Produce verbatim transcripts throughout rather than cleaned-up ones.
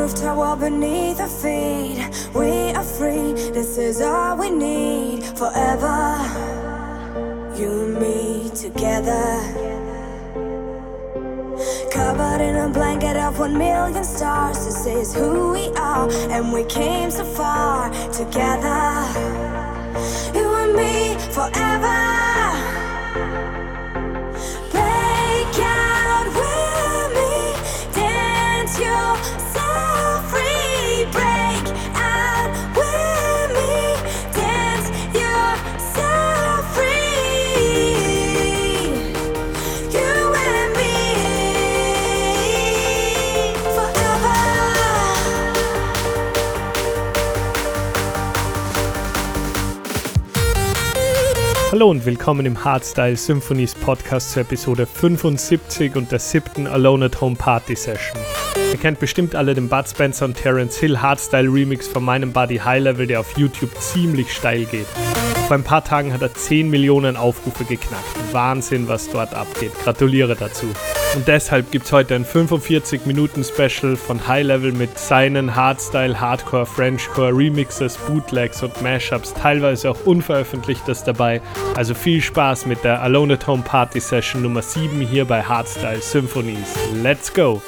roof tower beneath our feet. We are free, this is all we need. Forever, you and me together. Covered in a blanket of one million stars. This is who we are, and we came so far together. You and me forever. Break out with me, dance yourself free. Break out with me, dance yourself free. You and me forever. Hallo und willkommen im Hardstyle Symphonies Podcast zur Episode fünfundsiebzig und der siebten Alone at Home Party Session. Ihr kennt bestimmt alle den Bud Spencer und Terence Hill Hardstyle Remix von meinem Buddy High Level, der auf YouTube ziemlich steil geht. Vor ein paar Tagen hat er zehn Millionen Aufrufe geknackt. Wahnsinn, was dort abgeht. Gratuliere dazu. Und deshalb gibt's heute ein fünfundvierzig Minuten Special von High Level mit seinen Hardstyle, Hardcore, Frenchcore, Remixes, Bootlegs und Mashups, teilweise auch Unveröffentlichtes dabei. Also viel Spaß mit der Alone at Home Party Session Nummer sieben hier bei Hardstyle Symphonies. Let's go!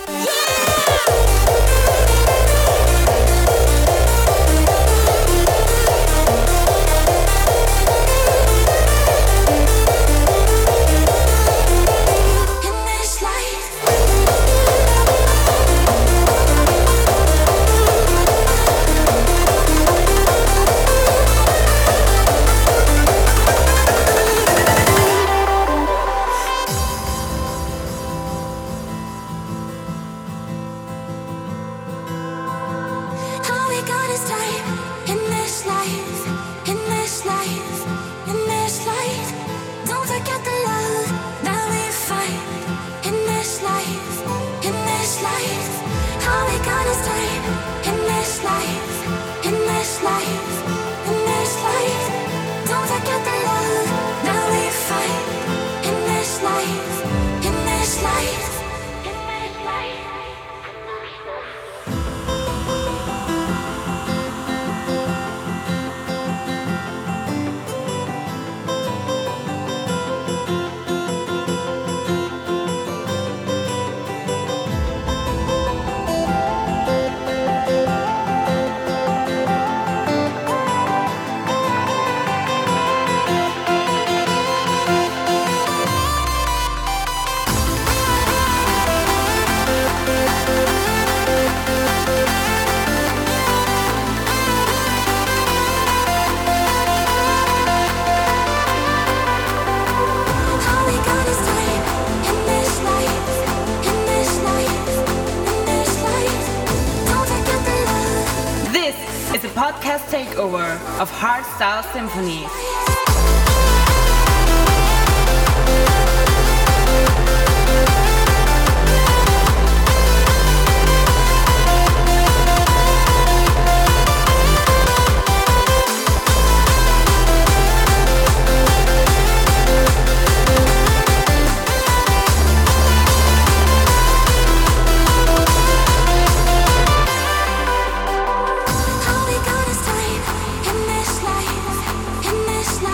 Podcast takeover of Hardstyle Symphony. All we got is time in this life, in this life.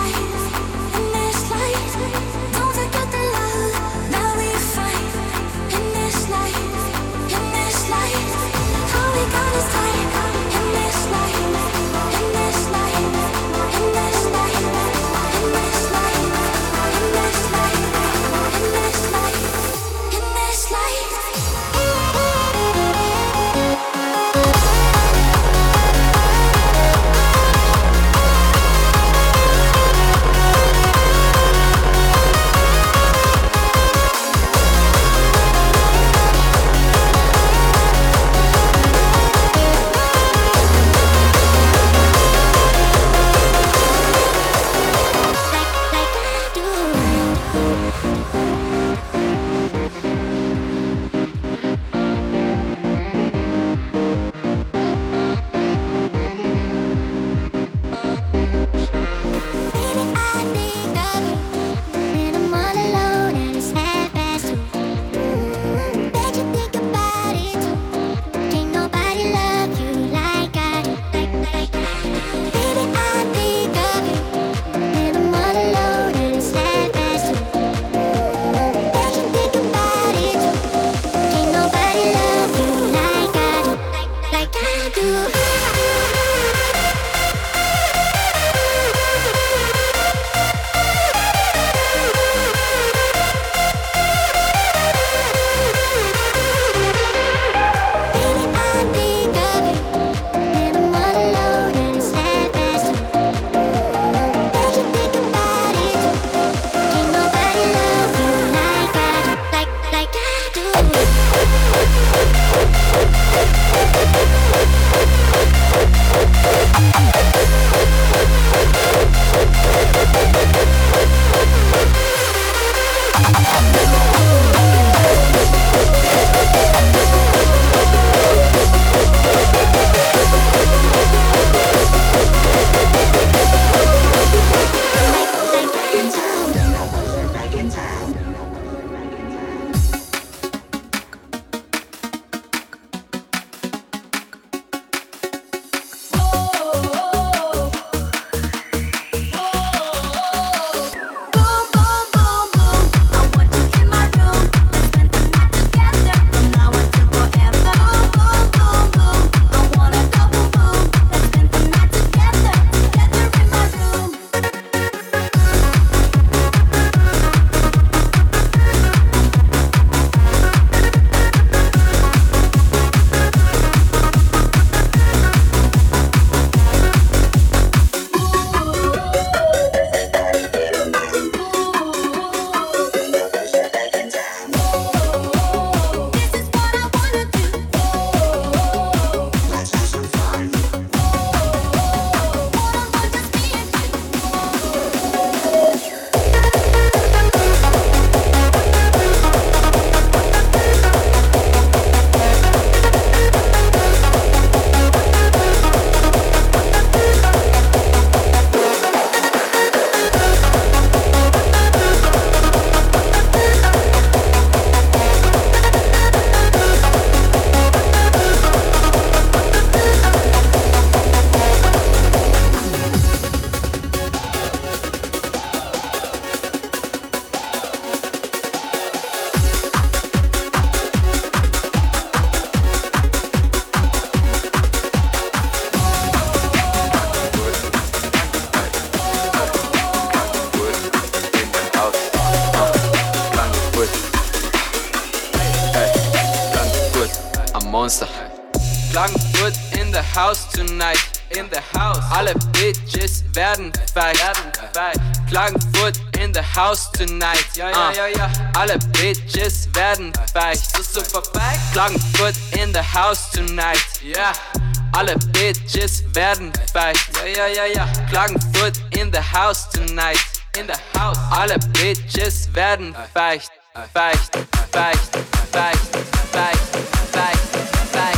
Monster. Klagenfurt in the house tonight. In the house. Alle Bitches werden feig. Klagenfurt in the house tonight. Ja, ja, ja, ja. Alle Bitches werden feig. So super feig. Klagenfurt in the house tonight. Ja. Alle Bitches werden feig. Ja, ja, ja, ja. Klagenfurt in the house tonight. In the house. Alle Bitches werden feig. Feig, feig, feig, feig, feig, feig.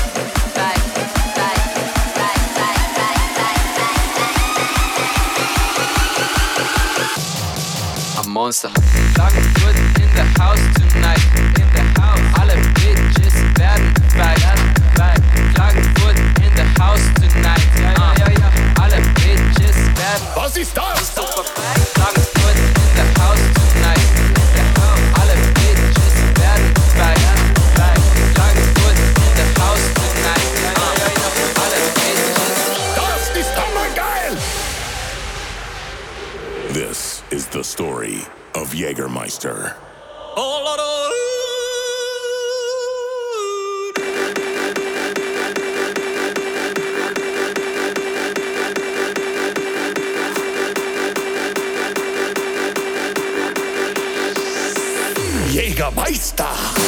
Monster. Klagenfurt in the house tonight. In the house. Alle Bitches werden feig. Klagenfurt in the house tonight. Ja, ja, ja, ja. Alle Bitches werden. Was ist das? Super feig. Klagenfurt in the house tonight. In the house. Alle Bitches werden feig. Klagenfurt in the house tonight. Ja, ja, ja, ja. Alle Bitches. Das ist hammergeil! This is the story of Jägermeister. Oh, Lord, oh. Jägermeister!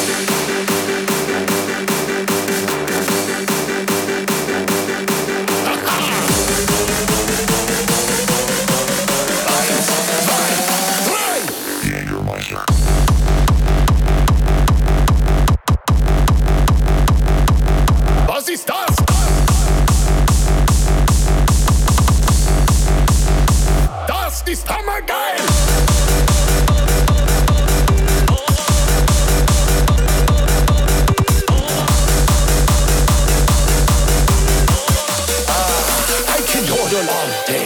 Was ist das? Das ist hammergeil! I can yodel all day.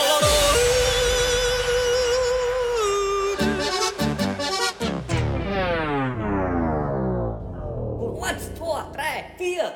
Eins, zwei, drei, vier.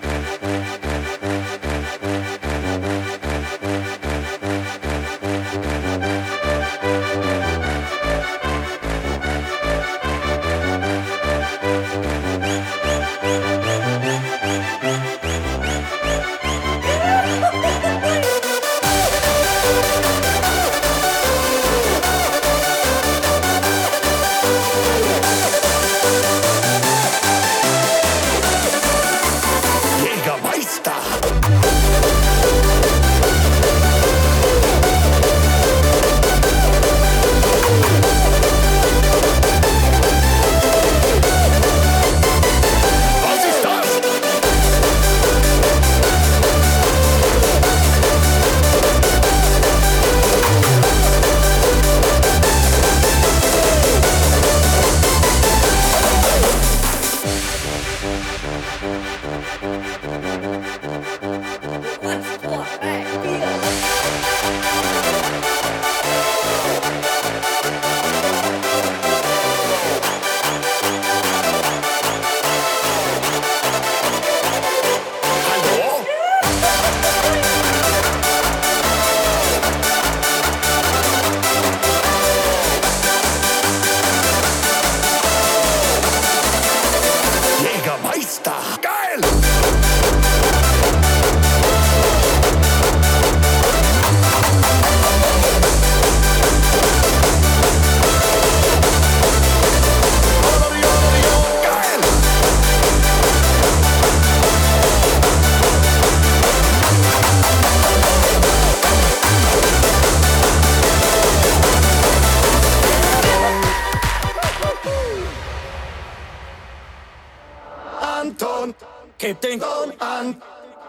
Anton, kipp den Ton an.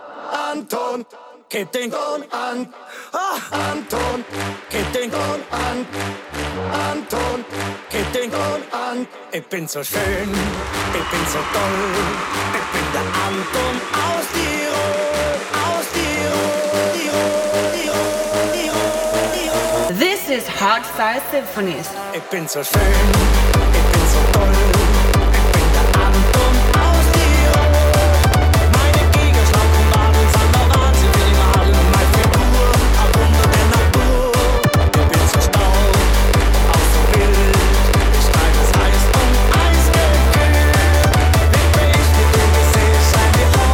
Anton, kipp den Ton an. Ah, Anton, kipp den Ton an. Anton, kipp den Ton an. Ich bin so schön, ich bin so toll. Ich bin der Anton aus Tirol, aus Tirol, Tirol, Tirol, Tirol, Tirol. This is Hardstyle Symphonies. Ich bin so schön, ich bin so toll. Ich bin der Anton aus Tirol. Meine Gegner schlanken Wadeln, sind der Wahnsinn für die Malen. Meine Figur, ein Wunder der Natur. Ich bin so stark, auch so wild. Ich treibe es heiß und eisgekühlt. Wie ich die Dinge sehe, scheint die Sonne.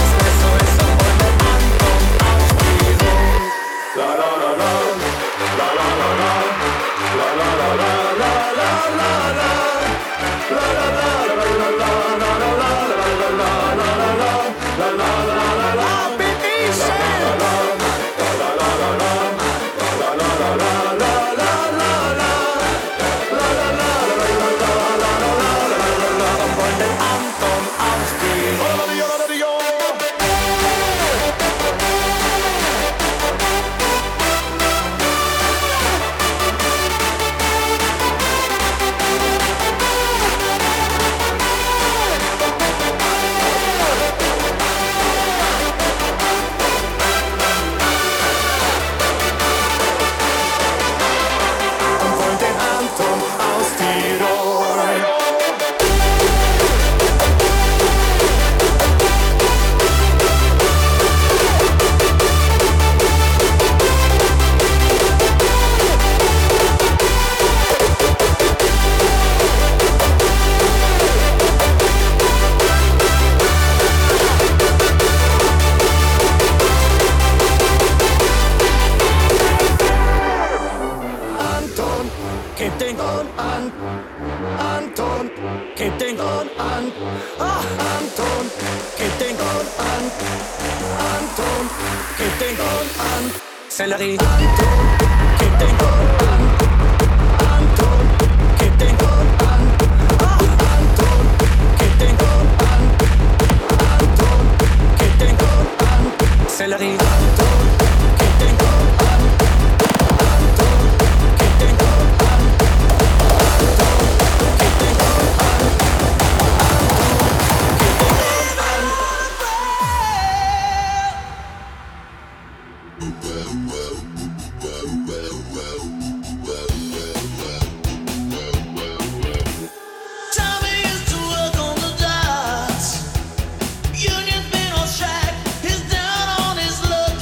den Ton an. Sellerie. Anton, gib den Ton an. Anton, gib den Ton an. Anton, gib den Ton an. Anton, gib den Ton an. Sellerie. Anton, gib den Ton an. Anton, gib den Ton an. Anton, gib den Ton an. Union been on strike, he's down on his luck.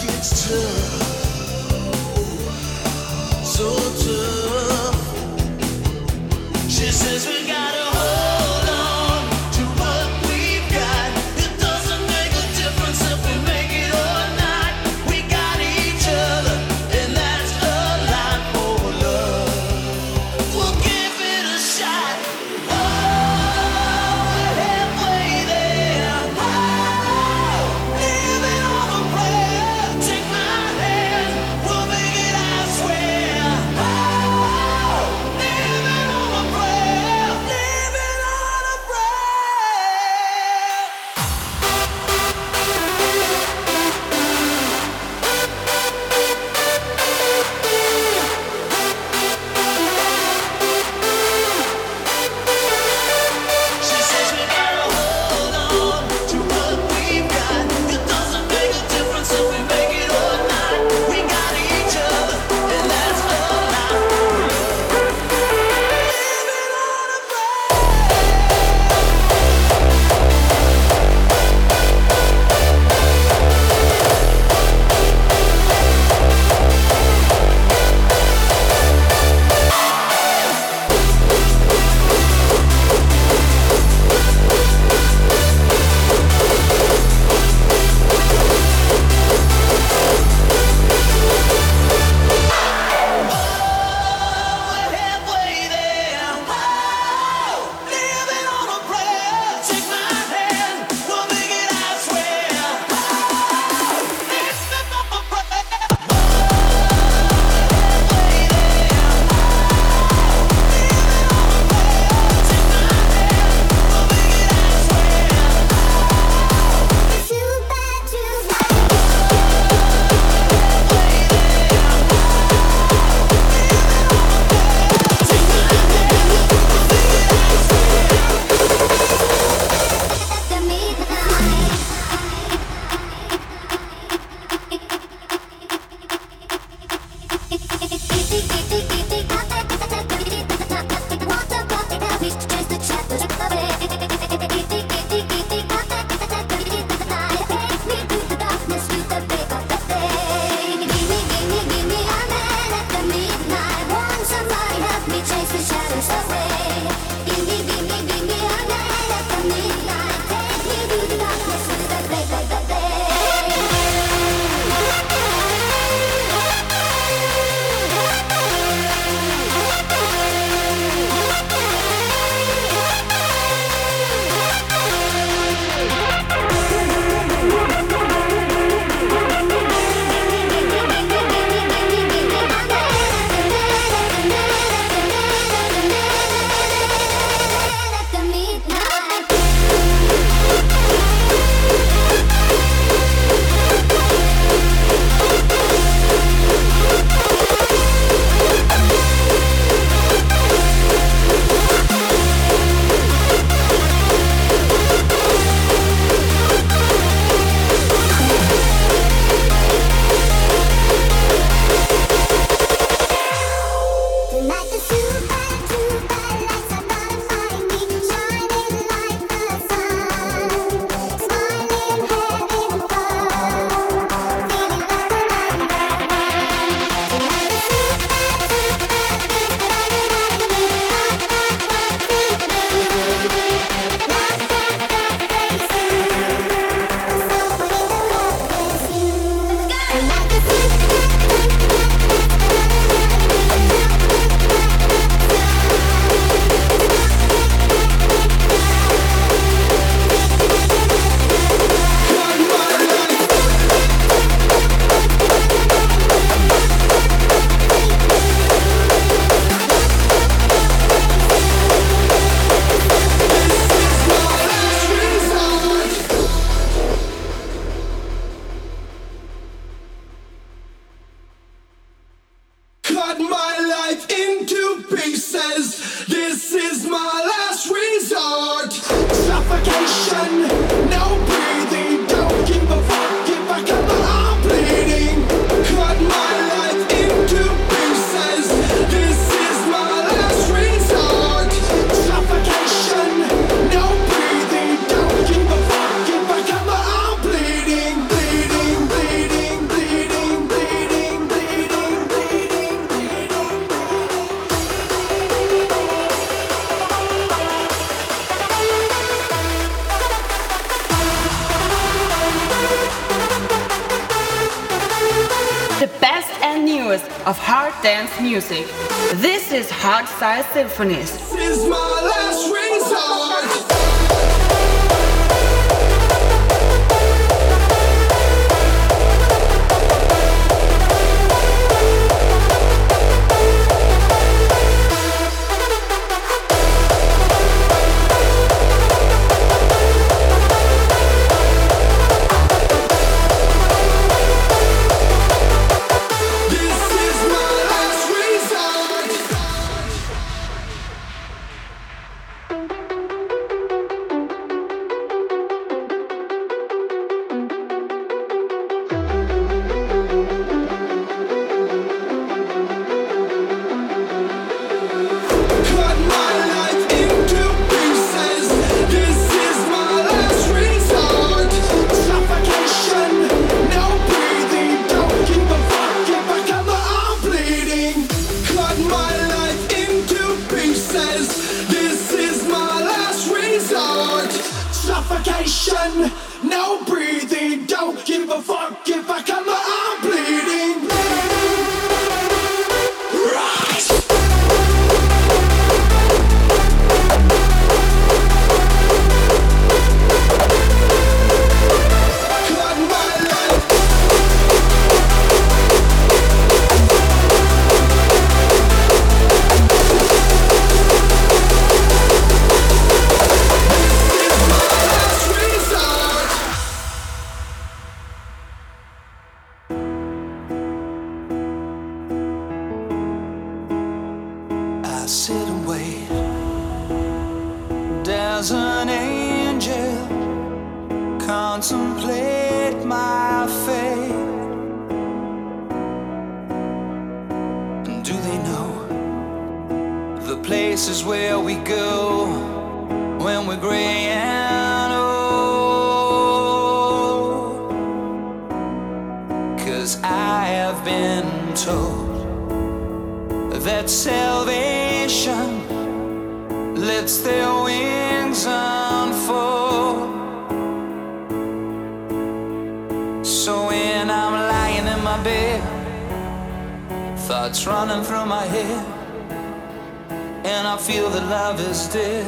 cut my life into pieces. This is my last resort. Suffocation, no breathing. Don't give a fuck if I come out bleeding. Cut my life into pieces. This is my last resort. Suffocation, no breathing. Don't give a fuck if I come out bleeding. Bleeding, bleeding, bleeding, bleeding, bleeding, bleeding, bleeding. The best and newest of hard dance music. This is Hardstyle Symphonies. This is my last resort. This is my last resort. Cut my life into pieces. This is my last resort. Suffocation, no breathing. Don't give a fuck if I come out bleeding. Cut my life into pieces. This is my last resort. Suffocation, no breathing. Don't give a fuck if I come out bleeding. Rise. Cut my life. This is my last resort. I sit and wait. There's an angel contemplate my fate. And do they know the places where we go when we're gray and old? 'Cause I have been told that salvation lets their wings unfold. So when I'm lying in my bed, thoughts running through my head, and I feel that love is dead,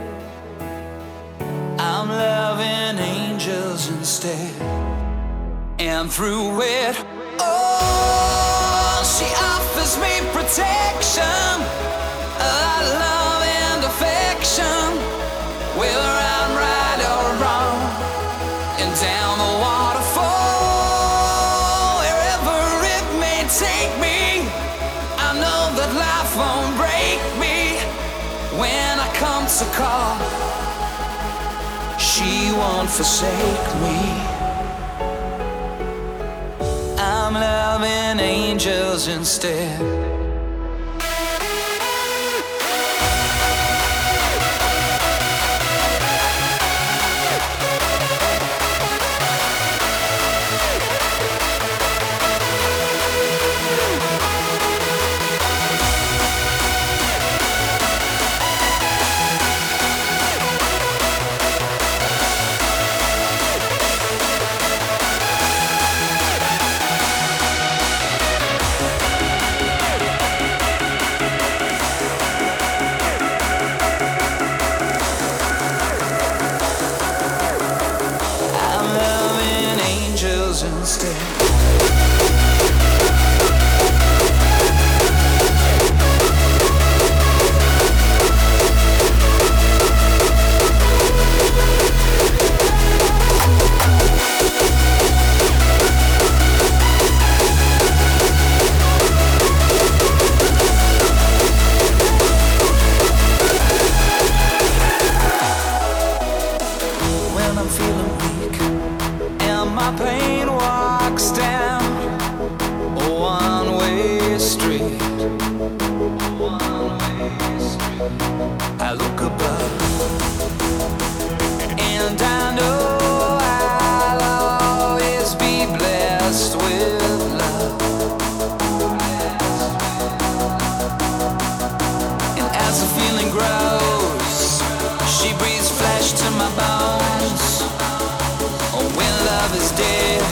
I'm loving angels instead. And through it, oh, she offers me protection, a love and affection, whether I'm right or wrong. And down the waterfall, wherever it may take me, I know that life won't break me. When I come to call, she won't forsake me. I'm loving angels instead. walks down a one-way street. I look above and I know I'll always be blessed with love. And as the feeling grows, she breathes flesh to my bones. Oh, when love is dead,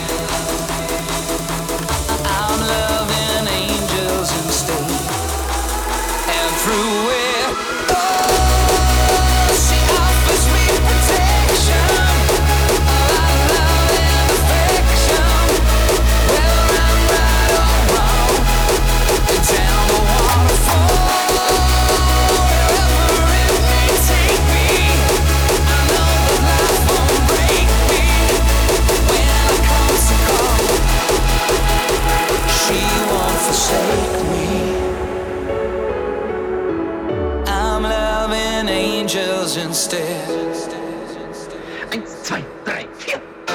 I'm loving angels instead. And through it, oh, she offers me protection, our love and affection. Whether I'm right or wrong, down the waterfall, wherever it may take me, I know that life won't break me when it comes to call. She won't forsake me. I'm loving angels instead. Eins, zwei, drei, vier.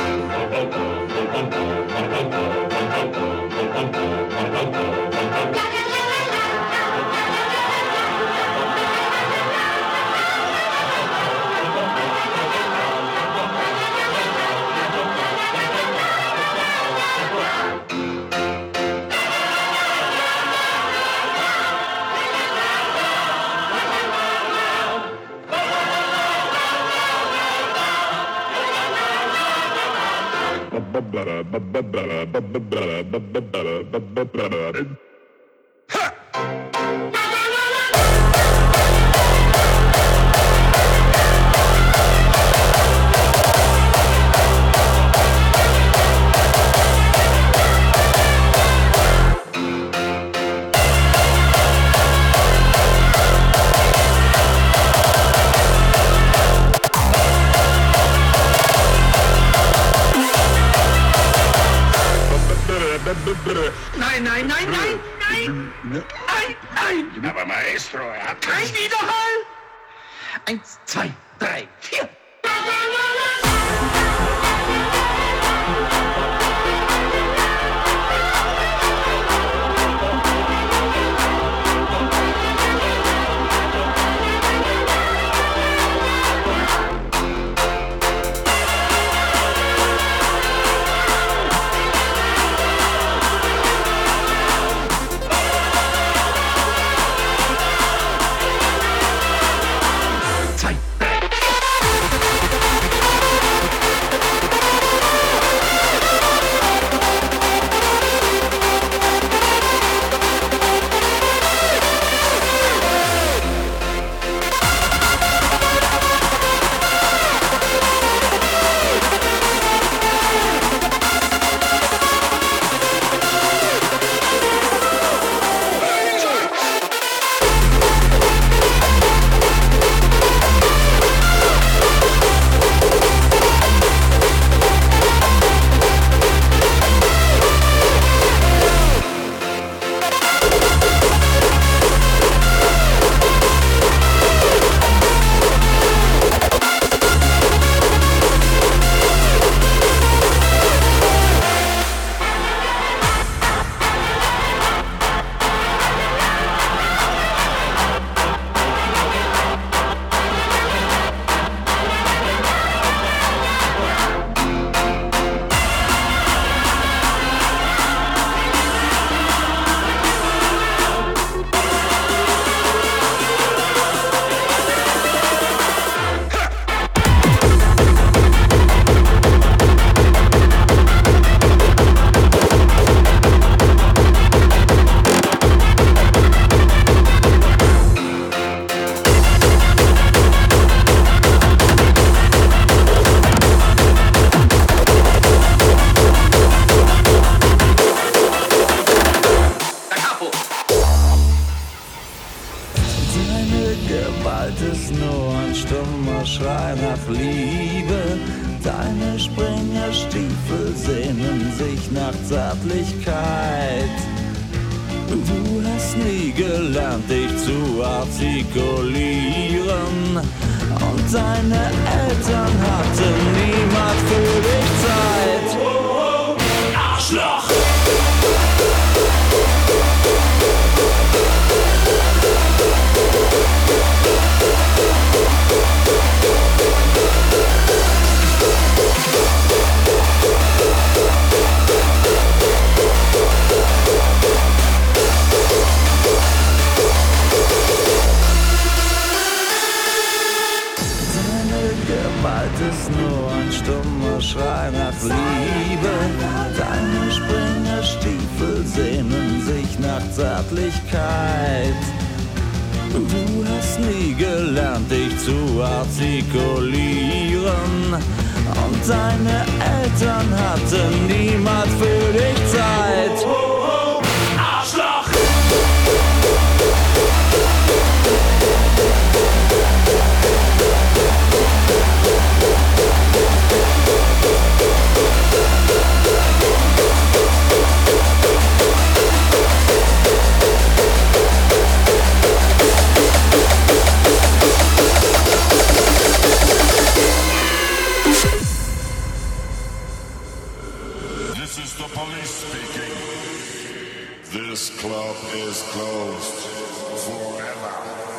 Nein, nein, nein, nein, nein, nein, nein. Aber Maestro, er hat Kein Widerhall. Eins, zwei, drei, vier. Schrei nach Liebe. Deine Springerstiefel sehnen sich nach Zärtlichkeit. Du hast nie gelernt, dich zu artikulieren. Und deine Eltern hatten niemals für dich Zeit. Arschloch! Ist nur ein stummer Schrei nach Liebe. Deine Springerstiefel sehnen sich nach Zärtlichkeit. Du hast nie gelernt, dich zu artikulieren. Und deine Eltern hatten niemals für dich Zeit. Arschloch! This is the police speaking. This club is closed forever.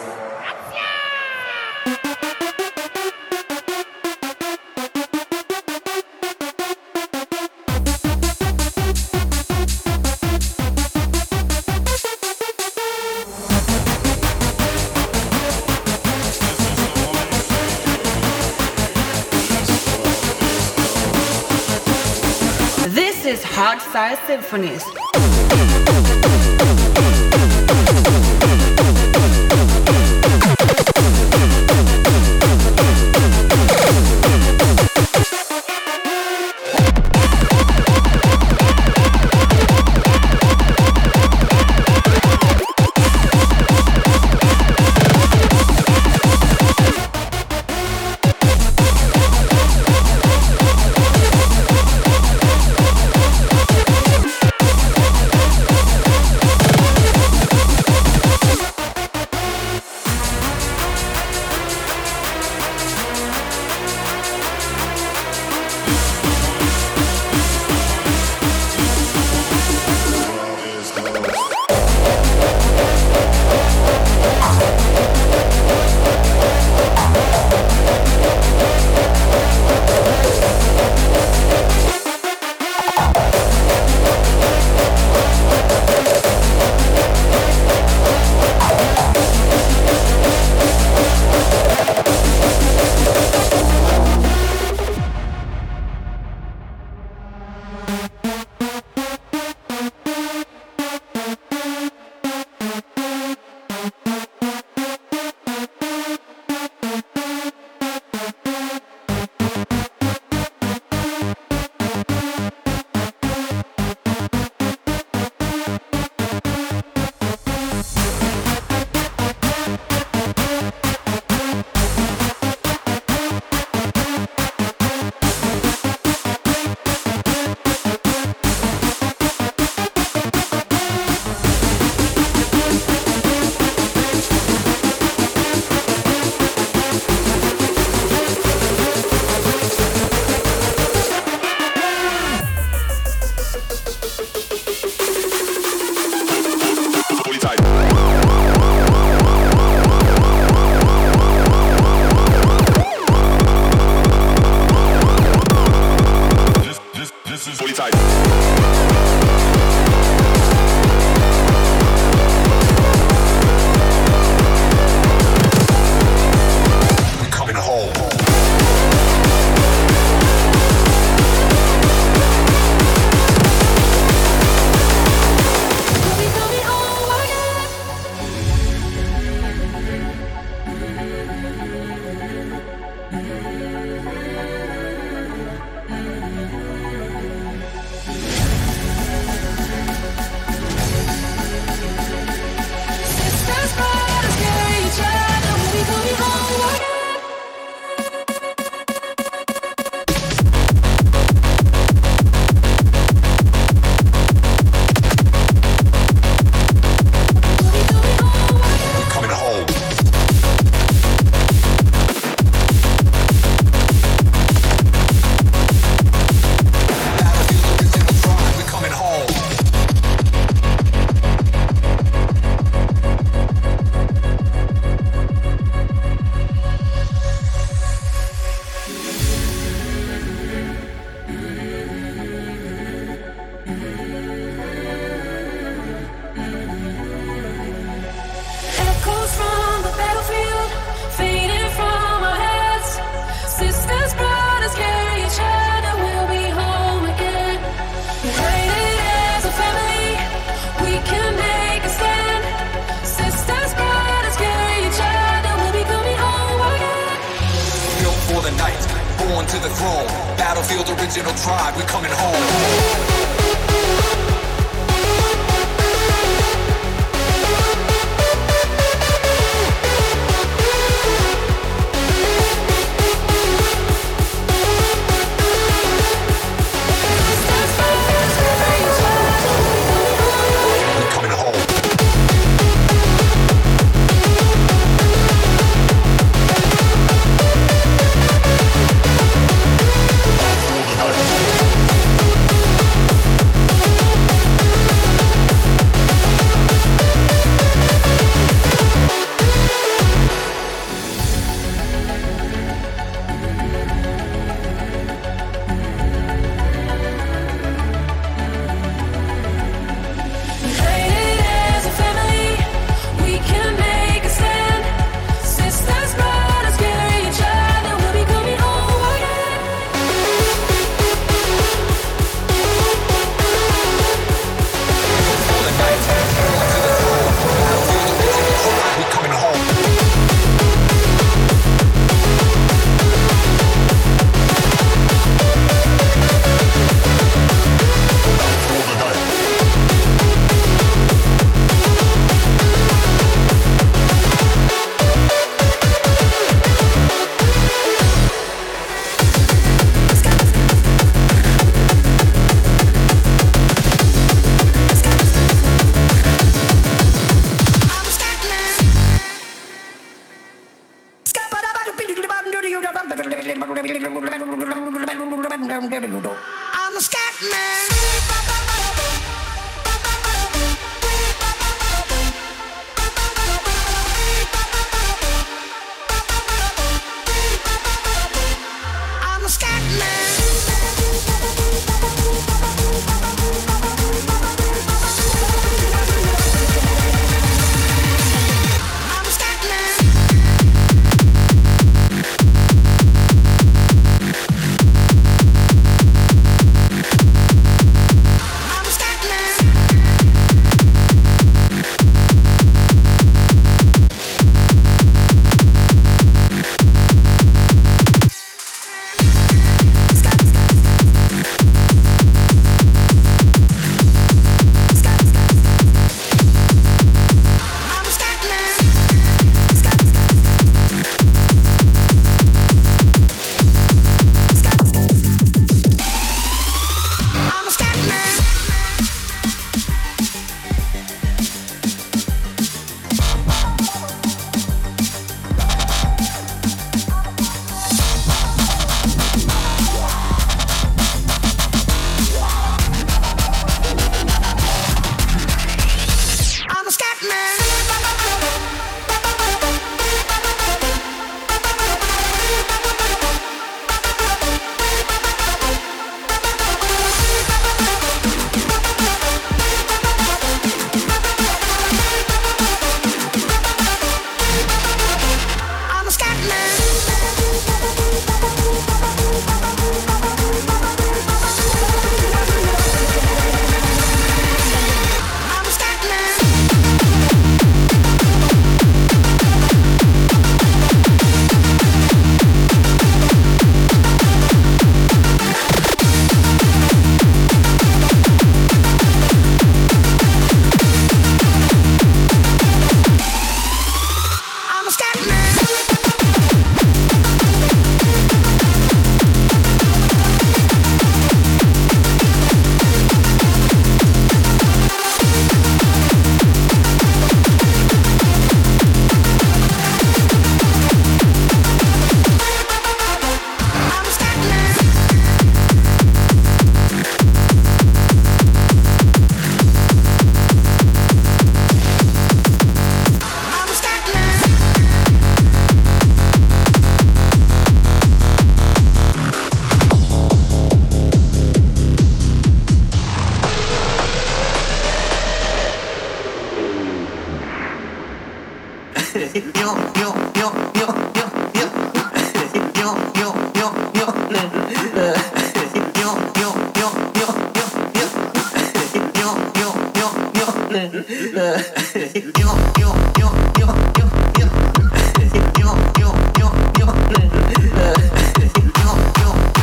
This is Hardstyle Symphonies. to the throne. Battlefield original tribe, we coming home. I'm a scat man. I'm a scat man. Yo, yo, yo, yo, yo, yo, yo, yo,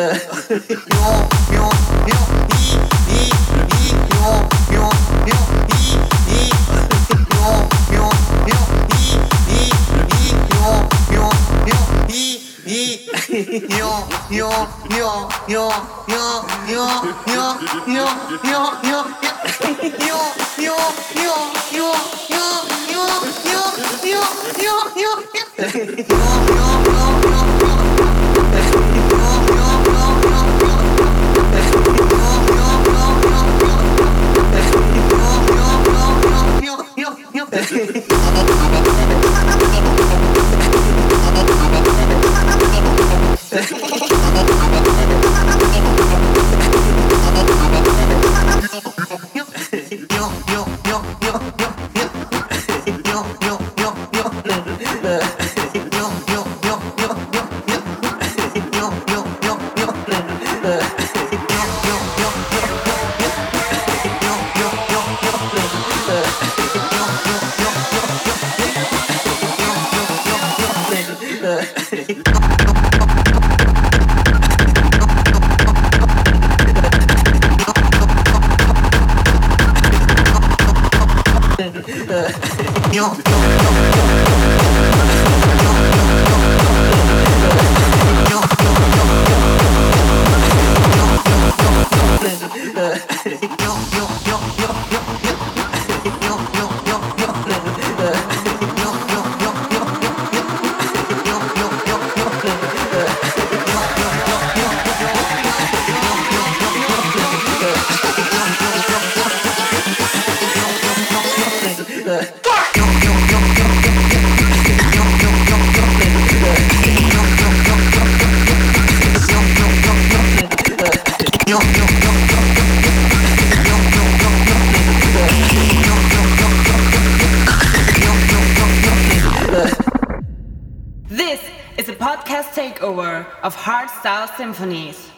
This is a podcast takeover of Hardstyle Symphonies.